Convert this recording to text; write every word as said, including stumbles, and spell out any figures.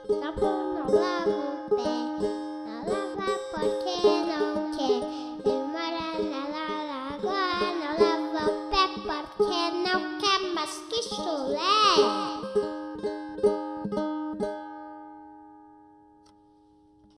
Tá bom, não lava o pé, não lava porque não quer. E mora na lagoa, não lava o pé porque não quer mais que chulé.